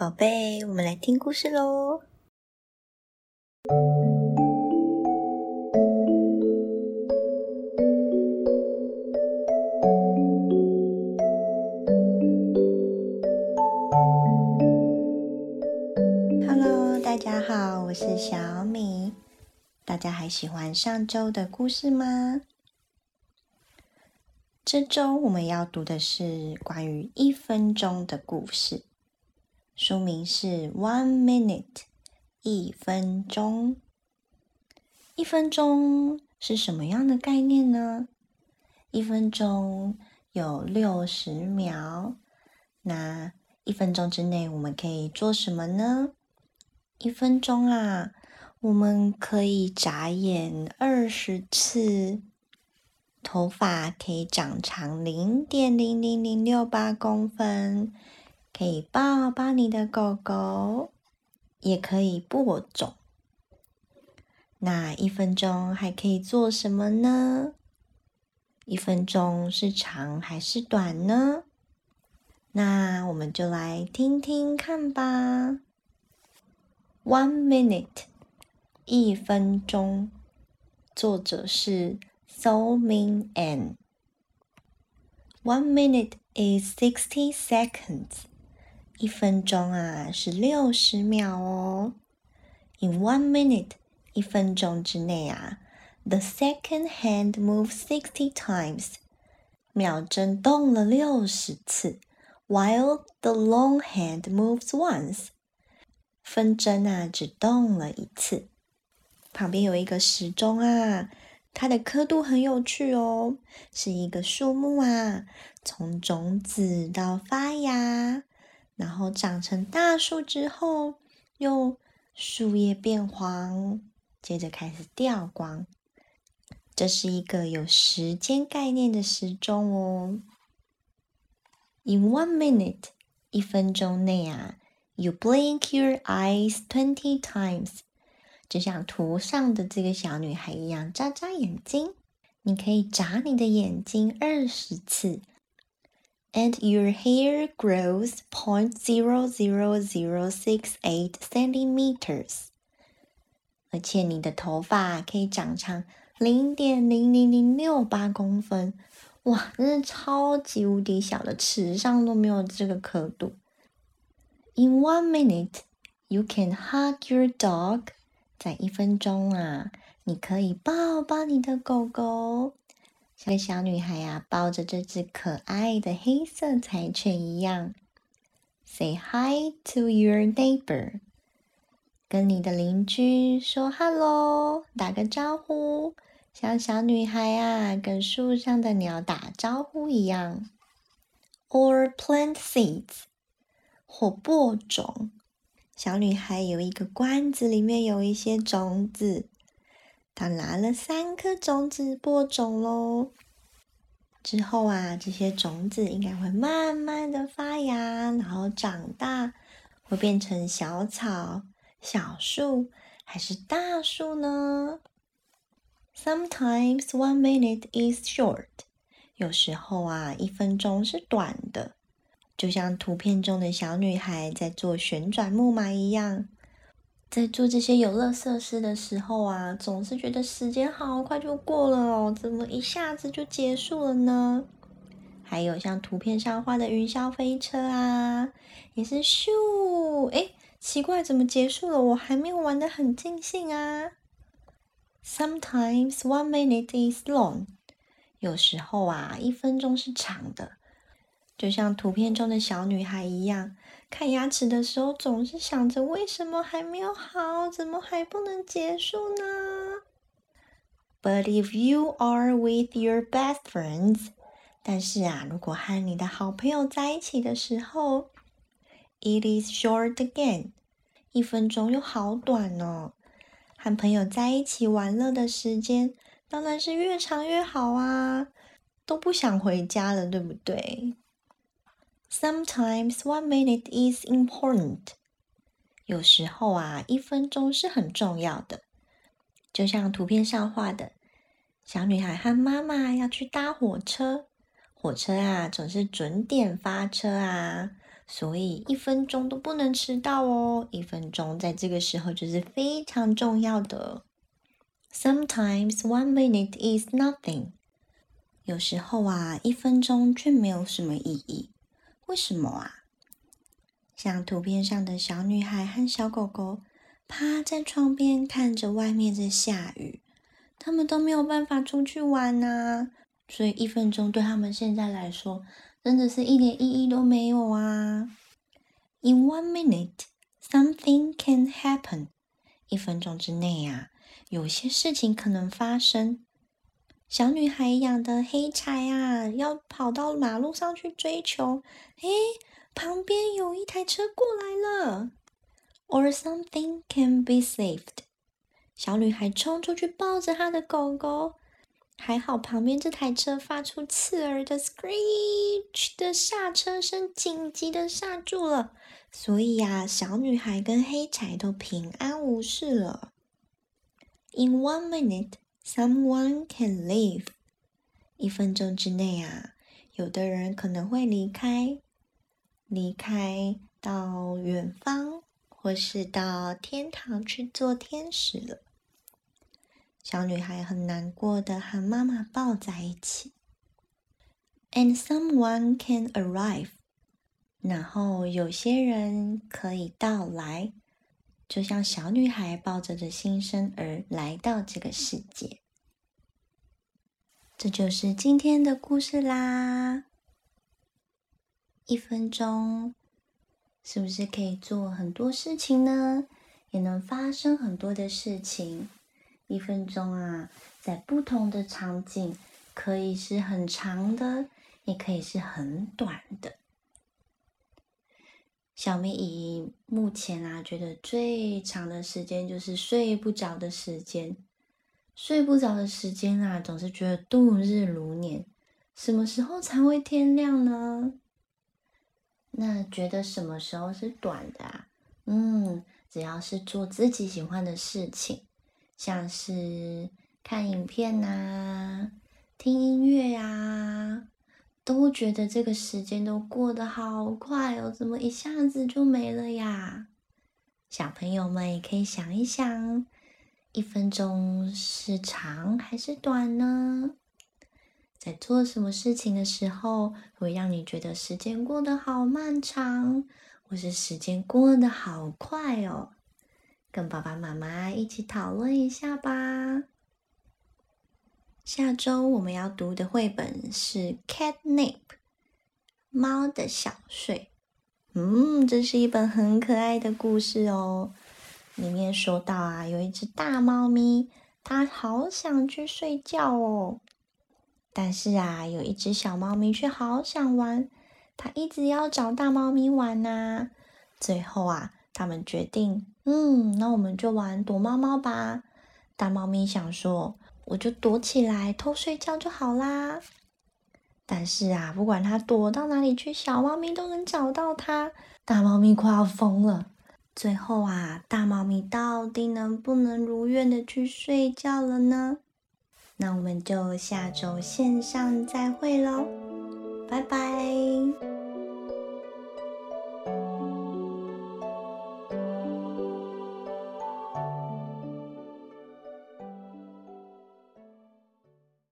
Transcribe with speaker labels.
Speaker 1: 宝贝，我们来听故事咯。Hello， 大家好，我是小米。大家还喜欢上周的故事吗？这周我们要读的是关于1分钟的故事，书名是 One Minute， 1分钟。1分钟是什么样的概念呢？1分钟有60秒，那1分钟之内我们可以做什么呢？1分钟啊，我们可以眨眼20次，头发可以长长0.00068公分，可以抱抱你的狗狗，也可以播种。那1分钟还可以做什么呢？1分钟是长还是短呢？那我们就来听听看吧。One minute， 1分钟，作者是 So Min An。 One minute is 60 seconds， 1分钟啊是60秒哦。In 1 minute， 1分钟之内啊，The second hand moves 60 times， 秒针动了60次 ，while the long hand moves once， 分针啊只动了1次。旁边有一个时钟啊，它的刻度很有趣哦，是一个树木啊，从种子到发芽，然后长成大树之后，又树叶变黄，接着开始掉光。这是一个有时间概念的时钟哦。In 1 minute， 1分钟内啊 ，you blink your eyes 20 times， 就像图上的这个小女孩一样，眨眨眼睛。你可以眨你的眼睛20次。And your hair grows 0.00068 centimeters， 而且你的头发可以长长0.00068公分。哇，真是超级无敌小的，尺上都没有这个刻度。In 1 minute， you can hug your dog。 在1分钟啊，你可以抱抱你的狗狗，像小女孩啊抱着这只可爱的黑色柴犬一样。Say hi to your neighbor， 跟你的邻居说 hello， 打个招呼，像小女孩啊跟树上的鸟打招呼一样。Or plant seeds， 或播种。小女孩有一个罐子，里面有一些种子，她拿了3颗种子播种咯。之后啊，这些种子应该会慢慢的发芽，然后长大，会变成小草、小树，还是大树呢？ Sometimes 1 minute is short， 有时候啊，1分钟是短的，就像图片中的小女孩在做旋转木马一样。在做这些游乐设施的时候啊，总是觉得时间好快就过了哦，怎么一下子就结束了呢？还有像图片上画的云霄飞车啊，也是咻，奇怪，怎么结束了？我还没有玩得很尽兴啊。Sometimes 1 minute is long， 有时候啊，1分钟是长的，就像图片中的小女孩一样，看牙齿的时候总是想着为什么还没有好，怎么还不能结束呢？ But if you are with your best friends， 但是啊，如果和你的好朋友在一起的时候 ，it is short again， 1分钟又好短哦。和朋友在一起玩乐的时间当然是越长越好啊，都不想回家了，对不对？Sometimes 1 minute is important， 有时候啊，1分钟是很重要的。就像图片上画的，小女孩和妈妈要去搭火车，火车啊总是准点发车啊， 所以1分钟都不能迟到哦。1分钟在这个时候就是非常重要的。Sometimes 1 minute is nothing. 有时候啊，1分钟却没有什么意义。为什么啊？像图片上的小女孩和小狗狗趴在窗边看着外面在下雨，他们都没有办法出去玩啊，所以1分钟对他们现在来说真的是一点意义都没有啊。In 1 minute, something can happen. 1分钟之内啊，有些事情可能发生。小女孩养的黑柴啊，要跑到马路上去追球，旁边有一台车过来了。Or something can be saved. 小女孩冲出去抱着她的狗狗，还好旁边这台车发出刺耳的 screech 的刹车声，紧急的刹住了，所以啊，小女孩跟黑柴都平安无事了。In 1 minute, someone can leave. 1分钟之内啊，有的人可能会离开到远方，或是到天堂去做天使了。小女孩很难过的和妈妈抱在一起。And someone can arrive. 然后有些人可以到来，就像小女孩抱着的新生儿来到这个世界。这就是今天的故事啦。1分钟是不是可以做很多事情呢？也能发生很多的事情。1分钟啊，在不同的场景，可以是很长的，也可以是很短的。小咪姨目前啊，觉得最长的时间就是睡不着的时间。睡不着的时间啊，总是觉得度日如年。什么时候才会天亮呢？那觉得什么时候是短的啊？只要是做自己喜欢的事情，像是看影片啊、听音乐啊，都觉得这个时间都过得好快哦，怎么一下子就没了呀？小朋友们也可以想一想，1分钟是长还是短呢？在做什么事情的时候，会让你觉得时间过得好漫长，或是时间过得好快哦？跟爸爸妈妈一起讨论一下吧。下周我们要读的绘本是《Catnap》，猫的小睡。这是一本很可爱的故事哦。里面说到啊，有一只大猫咪，它好想去睡觉哦。但是啊，有一只小猫咪却好想玩，它一直要找大猫咪玩啊。最后啊，他们决定，那我们就玩躲猫猫吧。大猫咪想说，我就躲起来偷睡觉就好啦。但是啊，不管它躲到哪里去，小猫咪都能找到它。大猫咪快要疯了。最后啊，大猫咪到底能不能如愿的去睡觉了呢？那我们就下周线上再会咯，拜拜。